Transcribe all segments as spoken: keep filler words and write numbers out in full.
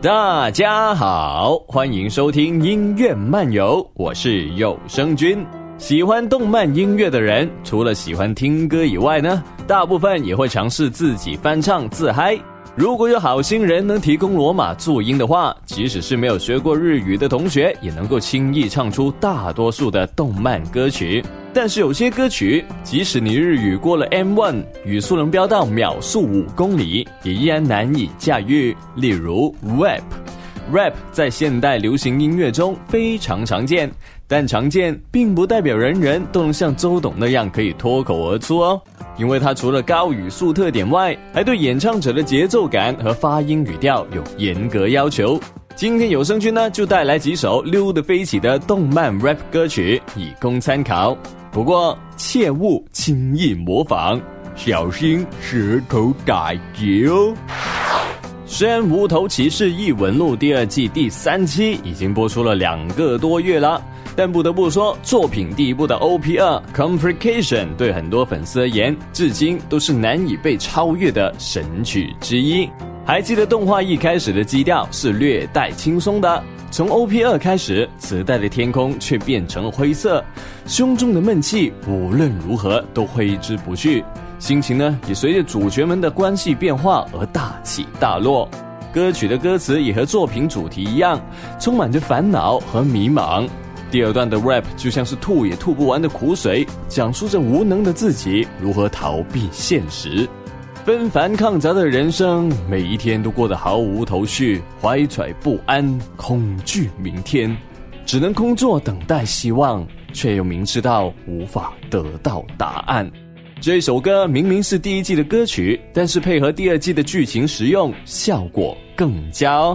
大家好，欢迎收听音乐漫游，我是有声君。喜欢动漫音乐的人，除了喜欢听歌以外呢，大部分也会尝试自己翻唱自嗨。如果有好心人能提供罗马注音的话，即使是没有学过日语的同学，也能够轻易唱出大多数的动漫歌曲。但是有些歌曲，即使你日语过了 M 一， 语速能飙到秒速五公里，也依然难以驾驭。例如 rap。rap 在现代流行音乐中非常常见，但常见并不代表人人都能像周董那样可以脱口而出哦。因为它除了高语速特点外，还对演唱者的节奏感和发音语调有严格要求。今天有声君呢，就带来几首溜得飞起的动漫 rap 歌曲，以供参考。不过切勿轻易模仿，小心舌头打结哦。虽然《无头骑士异闻录》第二季第三期已经播出了两个多月了，但不得不说，作品第一部的 O P 二 Complication 对很多粉丝而言，至今都是难以被超越的神曲之一。还记得动画一开始的基调是略带轻松的，从 O P 二 开始，磁带的天空却变成了灰色，胸中的闷气无论如何都挥之不去，心情呢也随着主角们的关系变化而大起大落。歌曲的歌词也和作品主题一样，充满着烦恼和迷茫。第二段的 rap 就像是吐也吐不完的苦水，讲述着无能的自己如何逃避现实。纷繁抗杂的人生，每一天都过得毫无头绪，怀揣不安，恐惧明天，只能空坐等待希望，却又明知道无法得到答案。这首歌明明是第一季的歌曲，但是配合第二季的剧情使用，效果更佳哦。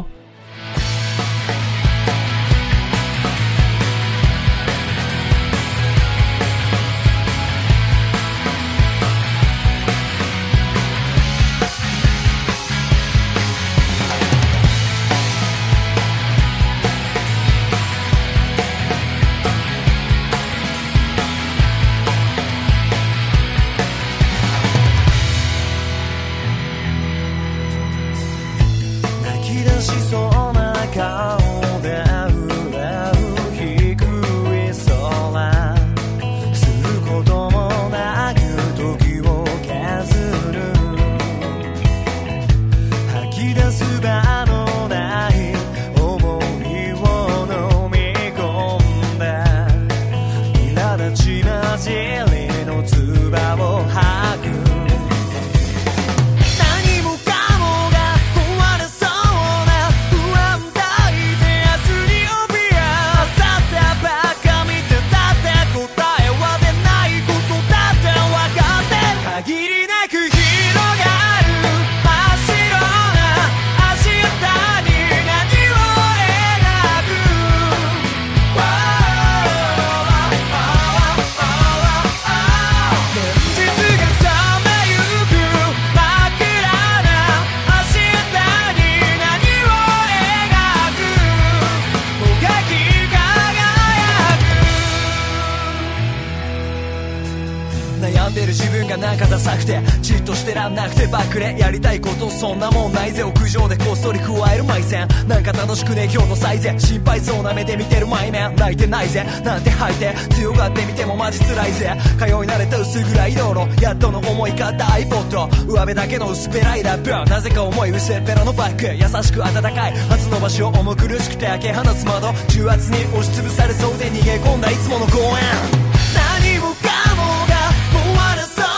なんかダサくてじっとしてらんなくてバックレやりたいことそんなもんないぜ屋上でこっそり加える埋線なんか楽しくね今日の最善心配そうな目で見てる前面泣いてないぜなんて吐いて強がってみてもマジ辛いぜ通い慣れた薄暗い道路やっとの思いかったiPod上辺だけの薄っぺらいラップなぜか重い薄っぺらのバッグ優しく温かい初の場所重苦しくて開け放つ窓重圧に押しつぶされそうで逃げ込んだいつもの公園何もかもが終わらそう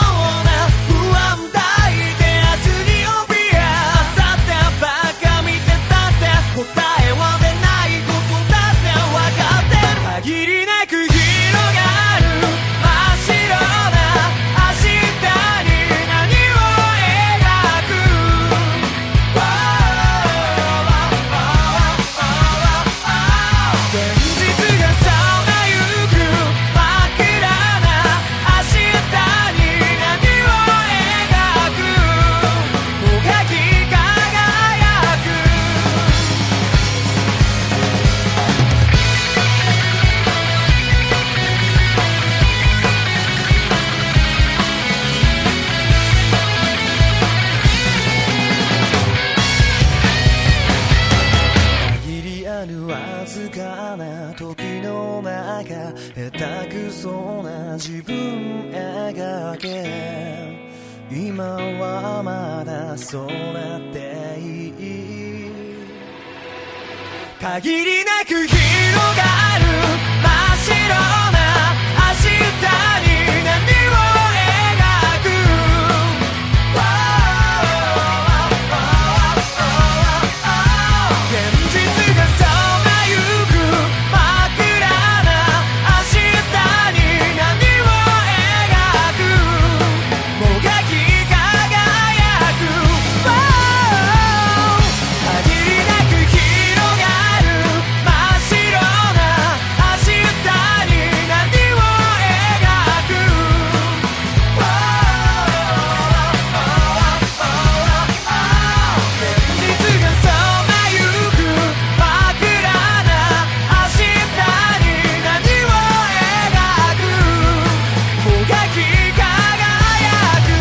現実がさまゆくるわずかな時の中下手くそな自分描け今はまだそうなっていい限りなく広がる真っ白な明日に何を描く現実がさまゆく真っ暗な明日に何を描くもがき輝く限りなく広がる真っ白な明日に何を描く現実がさまゆく真っ暗な明日に何を描くもがき輝く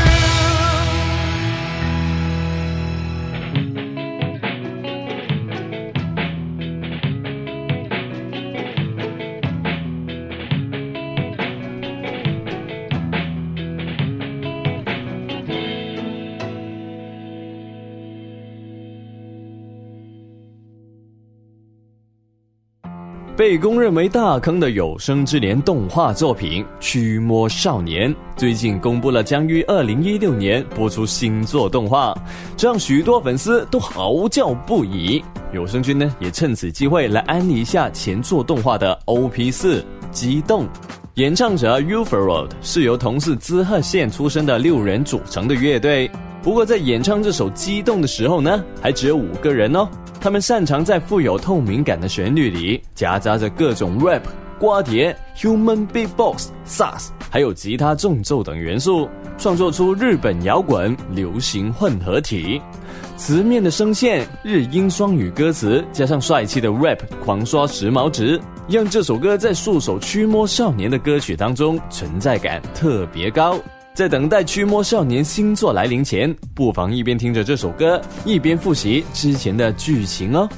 被公认为大坑的有生之年动画作品《驱魔少年》最近公布了将于二零一六年播出新作动画，这让许多粉丝都嚎叫不已。有声君呢也趁此机会来安利一下前作动画的 O P 四 激动。演唱者 Uferworld 是由同是滋贺县出身的六人组成的乐队，不过在演唱这首《激动》的时候呢，还只有五个人哦。他们擅长在富有透明感的旋律里夹杂着各种 rap、刮碟、human beatbox、sax， 还有吉他重奏等元素，创作出日本摇滚流行混合体。词面的声线、日英双语歌词，加上帅气的 rap 狂刷时髦值，让这首歌在数首驱魔少年的歌曲当中存在感特别高。在等待驱魔少年新作来临前，不妨一边听着这首歌，一边复习之前的剧情哦。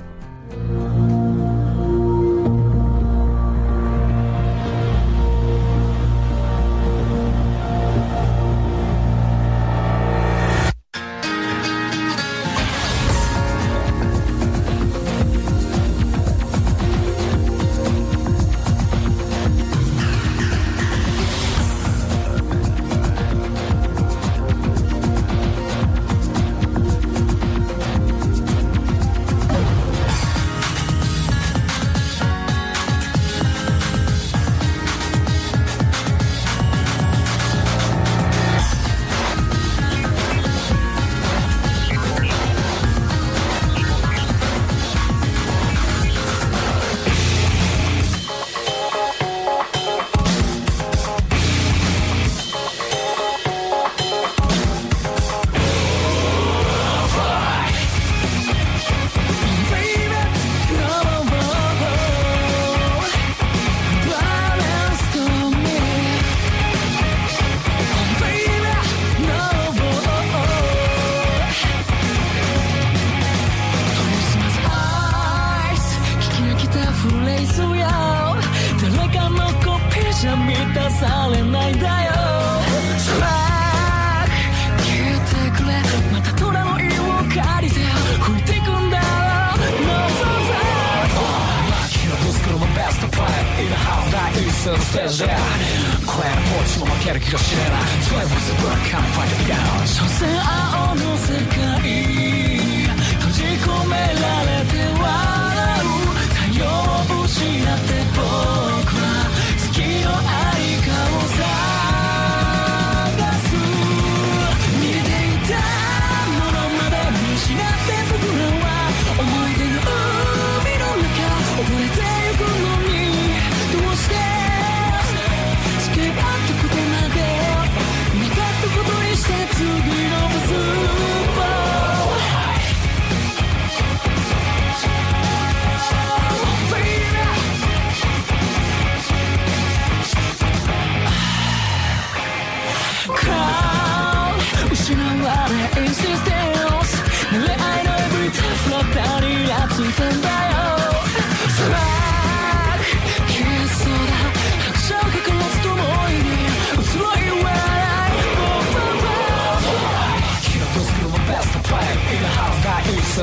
ついたんだよ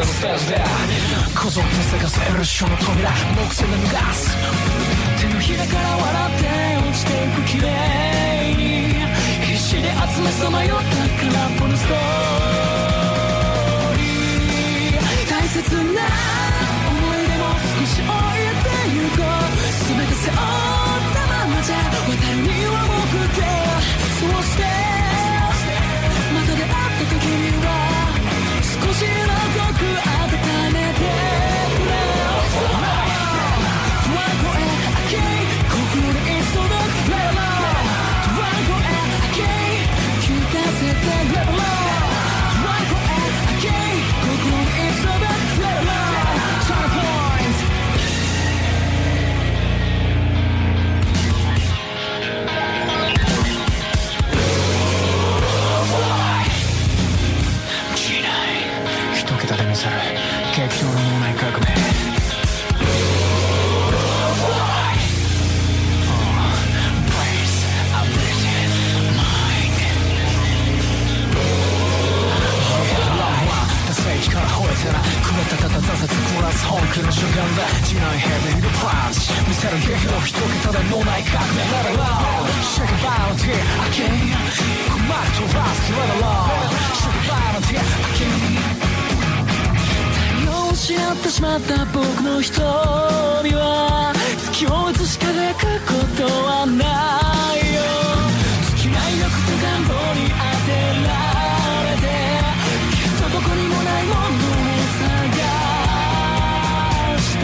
ステージでこぞって探せる書の扉木製で脱がす手のひらから笑って落ちていく綺麗に必死で集めさまよった空っぽのストーリー大切な思い出も少し置いてゆこう全て背負ったままじゃ渡るには重くてそうしてまた出会った時には少しの濃く温めてくれトランコへ開け心で一層のレベルトランコへ開け聞かせてレベルトランコへ開け心で一層のレベルターンポイント激動の脳内革命から吠えたらくれたたた挫折プラス本気の瞬間だ地内ヘビーのパンチ見せる激動一桁で脳内革命 Let it roll Shake it bounty again 困るとラスト Let it roll Shake it bounty again失ってしまった僕の瞳は月を映し輝くことはないよ尽きない欲と願望に当てられてきっとどこにもないものを探して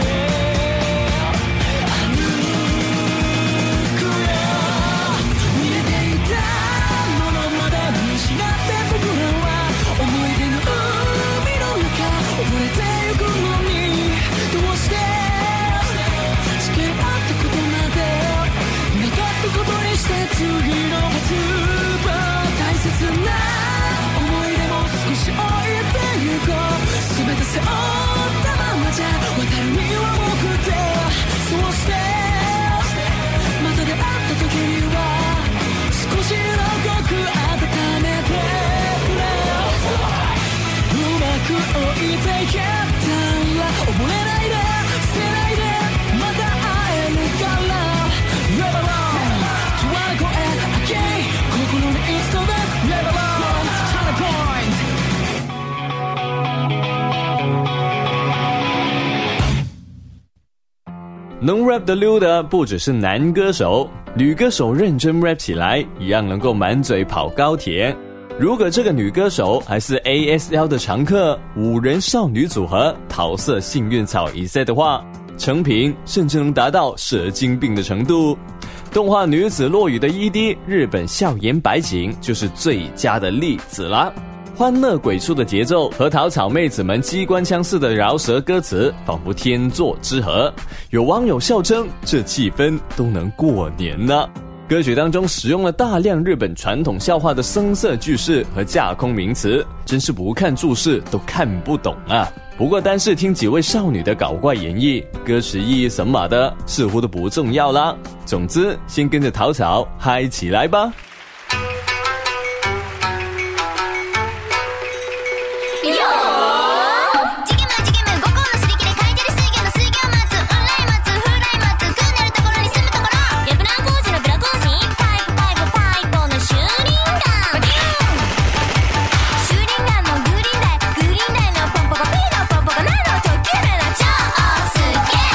歩くよ見えていたものまで見失って僕らは思い出の海の中溺れてどうして付き合ったことまでなかったことにして次のスーパー大切な思い出も少し置いてゆこう全て背負ったままじゃ渡るには重くてそうしてまた出会った時には少しの濃く温めてくれうまく置いていけたら溺れないで捨てないでまた会えるからレバロントワンコへ開け心に一度でレバロンターンポイント能 rap 的溜的不只是男歌手，女歌手认真 rap 起来一样能够满嘴跑高铁。如果这个女歌手还是 A S L 的常客，五人少女组合桃色幸运草一 set 的话，成品甚至能达到蛇精病的程度。动画女子落雨的 E D 日本校园白景就是最佳的例子啦。欢乐鬼畜的节奏和桃草妹子们机关枪似的饶舌歌词仿佛天作之合，有网友笑称这气氛都能过年呢。歌曲当中使用了大量日本传统笑话的声色句式和架空名词，真是不看注释都看不懂啊。不过单是听几位少女的搞怪演绎，歌词意义什么的似乎都不重要啦。总之先跟着桃草嗨起来吧。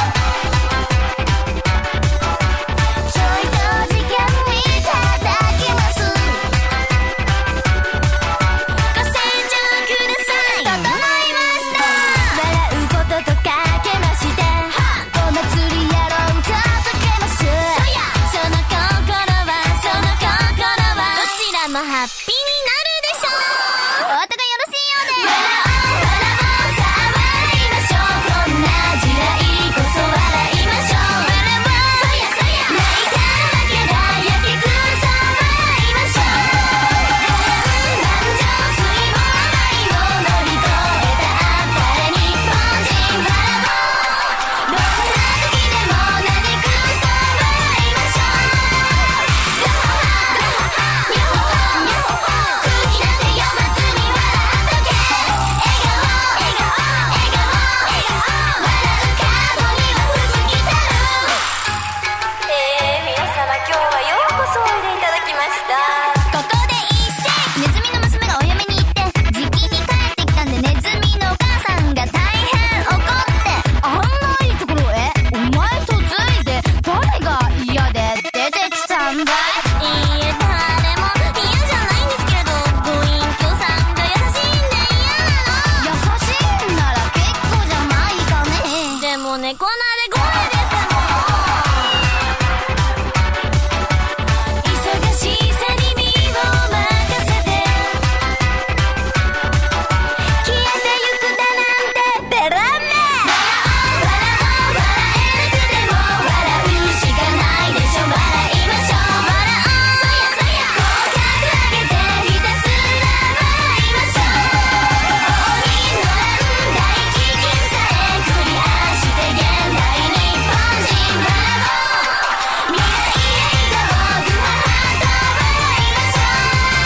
ちょいと時間にただけもう猫なで声ですもん忙しさに身を任せて消えてゆくだなんてベランメ笑おう笑えなくても笑うしかないでしょ笑いましょう笑おうそやそや口角上げてひたすら笑いましょう応仁の乱大飢饉さえクリアして現代日本人ブラボー未来へ行こうグハハと笑いましょう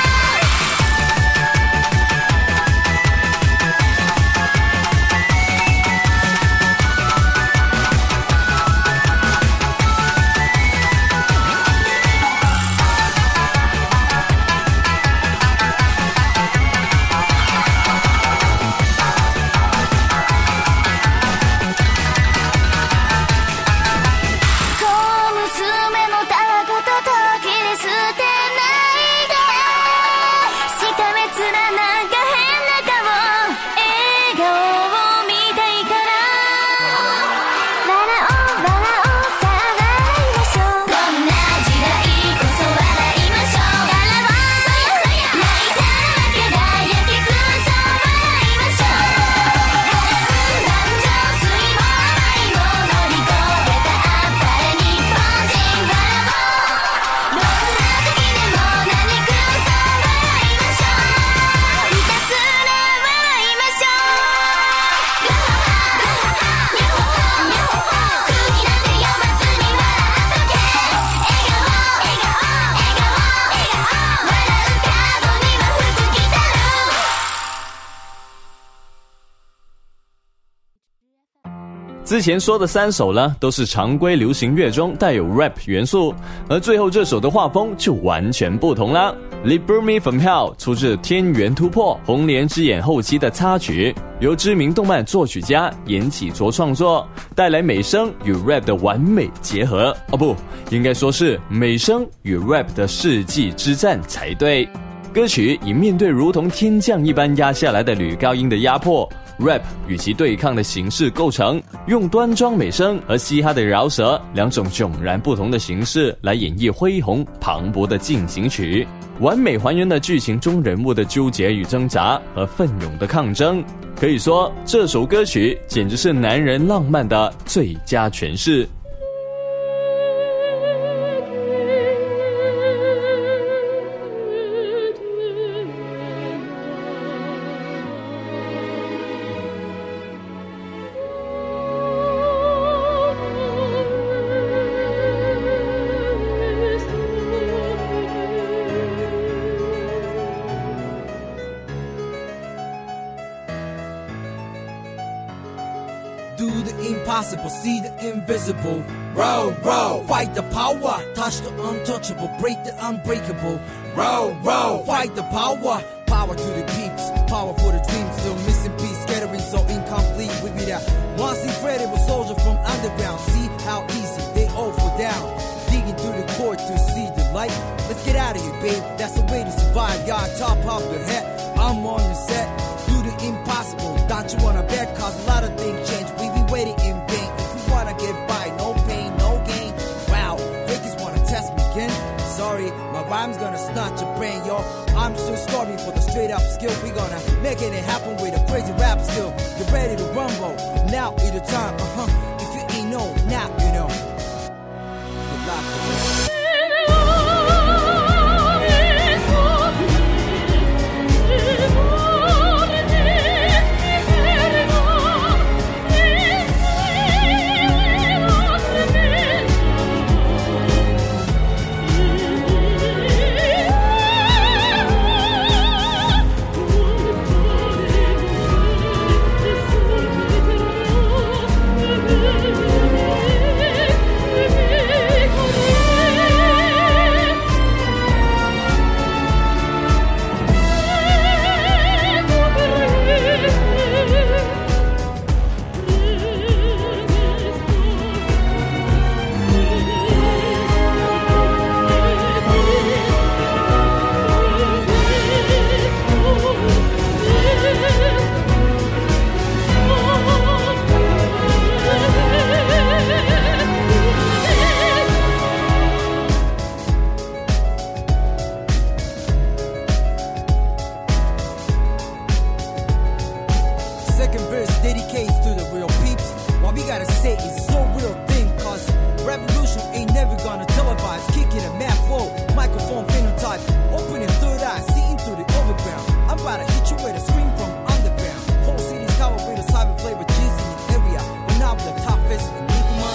小娘のたわごとと切り捨てないでしかめつらなんか変な顔笑顔を見たいから笑おう笑おうさあ笑いましょうこんな時代こそ笑いましょう笑おうそやそや泣いたら負けだやけくそ笑いましょう波乱万丈水も愛も乗り越えたあっぱれ日本人ブラボーどんな時でも何くそ笑いましょうひたすら笑いましょうグハハグハハミョホホミョホホ空気なんて読まずに笑っとけ笑顔笑顔笑顔笑顔笑う角には福来たる之前说的三首呢，都是常规流行乐中带有 rap 元素，而最后这首的画风就完全不同啦。Liber Me From Hell 出自《天元突破》红莲之眼后期的插曲，由知名动漫作曲家岩崎卓创作，带来美声与 rap 的完美结合。哦不，应该说是美声与 rap 的世纪之战才对。歌曲以面对如同天降一般压下来的女高音的压迫，rap 与其对抗的形式构成，用端庄美声和嘻哈的饶舌两种迥然不同的形式来演绎恢宏磅礴的进行曲，完美还原了剧情中人物的纠结与挣扎和奋勇的抗争。可以说，这首歌曲简直是男人浪漫的最佳诠释。 Do the impossible, see the invisible. Row, row, fight the power, touch the untouchable, break the unbreakable. Row, row, fight the power, power to the peeps, power for the dreams. Still missing piece, scattering so incomplete. We be that once incredible soldier from underground. See how easy they all fall down. Digging through the core to see the light. Let's get out of here, babe. That's the way to survive. Y'all top of the head. I'm on the set. Do the impossible. Don't you wanna bet? Cause a lot of things change. We be waiting in vain. If you wanna get by, no pain, no gain. Wow, fakers wanna test me again. Sorry, my rhyme's gonna snatch your brain, yo. I'm still starving for the straight up skill. We gonna make it happen with a crazy rap skill. Get ready to rumble. Now is the time, uh huh. If you ain't know, now you know. Good luck, boys. Yeah. gotta say it's so real thing, cause revolution ain't never gonna televise. Kicking a mad flow, microphone phenotype, opening third eye, seeing through the overground. I'm about to hit you with a scream from underground. Whole city's covered with a cyber flavor cheese in the area. We're not the toughest in Nigma.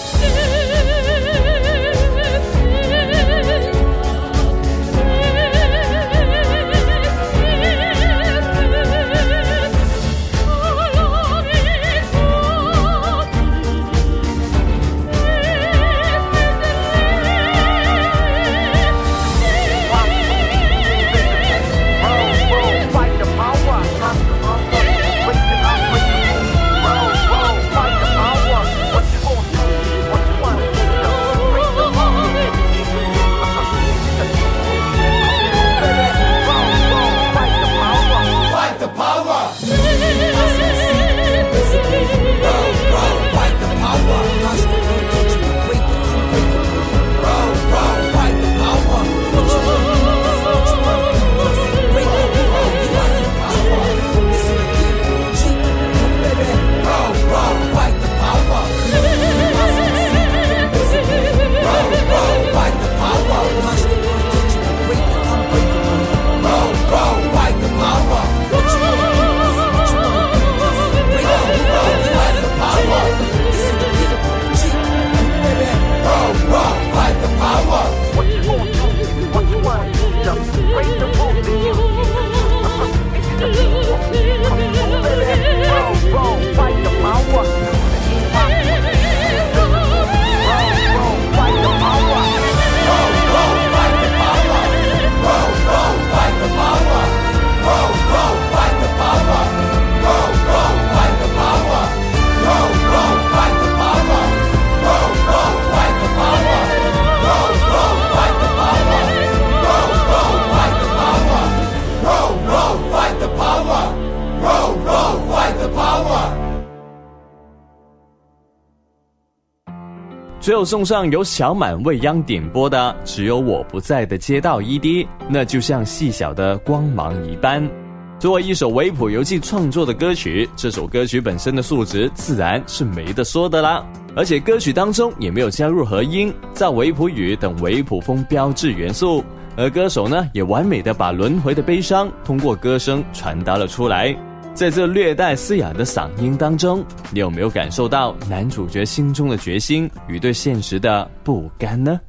最后送上由小满未央点播的只有我不在的街道 E D， 那就像细小的光芒一般。作为一首维普游记创作的歌曲，这首歌曲本身的素质自然是没得说的啦，而且歌曲当中也没有加入和音、造维普语等维普风标志元素，而歌手呢也完美的把轮回的悲伤通过歌声传达了出来。在这略带嘶哑的嗓音当中，你有没有感受到男主角心中的决心与对现实的不甘呢？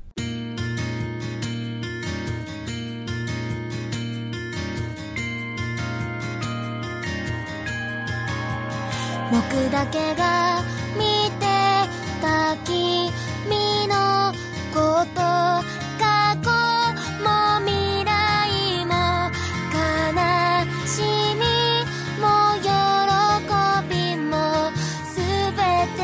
僕だけが見てた君のこと過去も未来も悲しみも喜びもすべて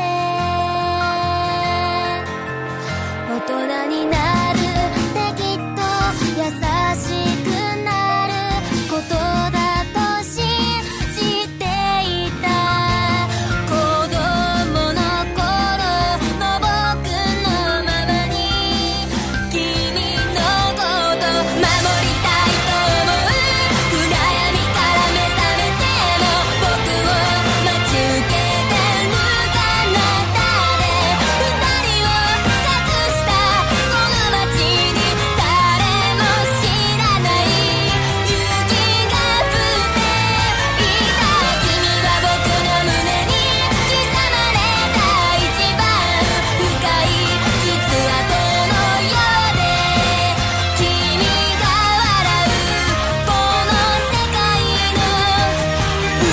大人になるってきっと優しくなることだと信じていた子供の頃の僕のままに君のこと守りたいと思う暗闇から目覚めても僕を待ち受けてる彼方で二人を隠したこの街に誰も知らない勇気が降っていた君は僕の胸に刻まれた一番深い傷跡のようで君が笑うこの世界の歌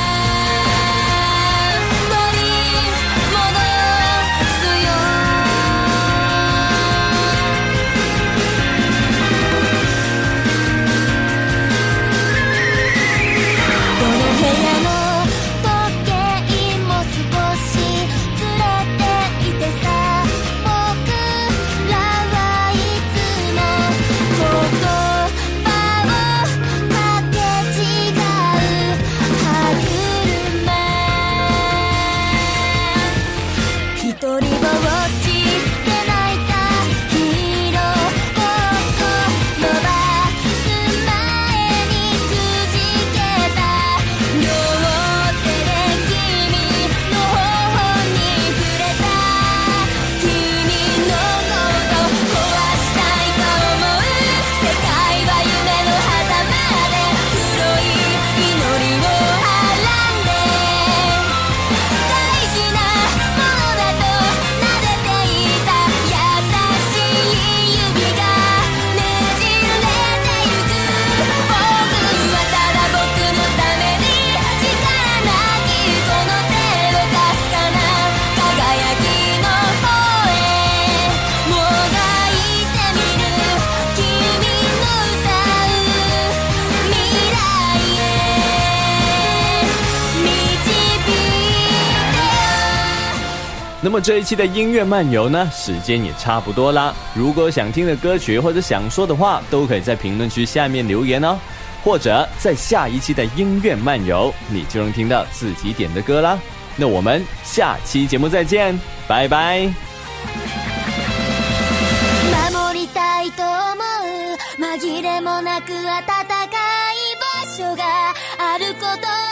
取り戻すよこの部屋の時計も少しずれていてさ僕らはいつも言葉をかけ違う歯車一人ぼっちで泣いたヒーローごっこ伸ばす前にくじけた両手で君の頬に触れ那么这一期的音乐漫游呢，时间也差不多啦。如果想听的歌曲或者想说的话，都可以在评论区下面留言哦，或者在下一期的音乐漫游，你就能听到自己点的歌啦。那我们下期节目再见，拜拜。 守りたいと思う紛れもなく暖かい場所があること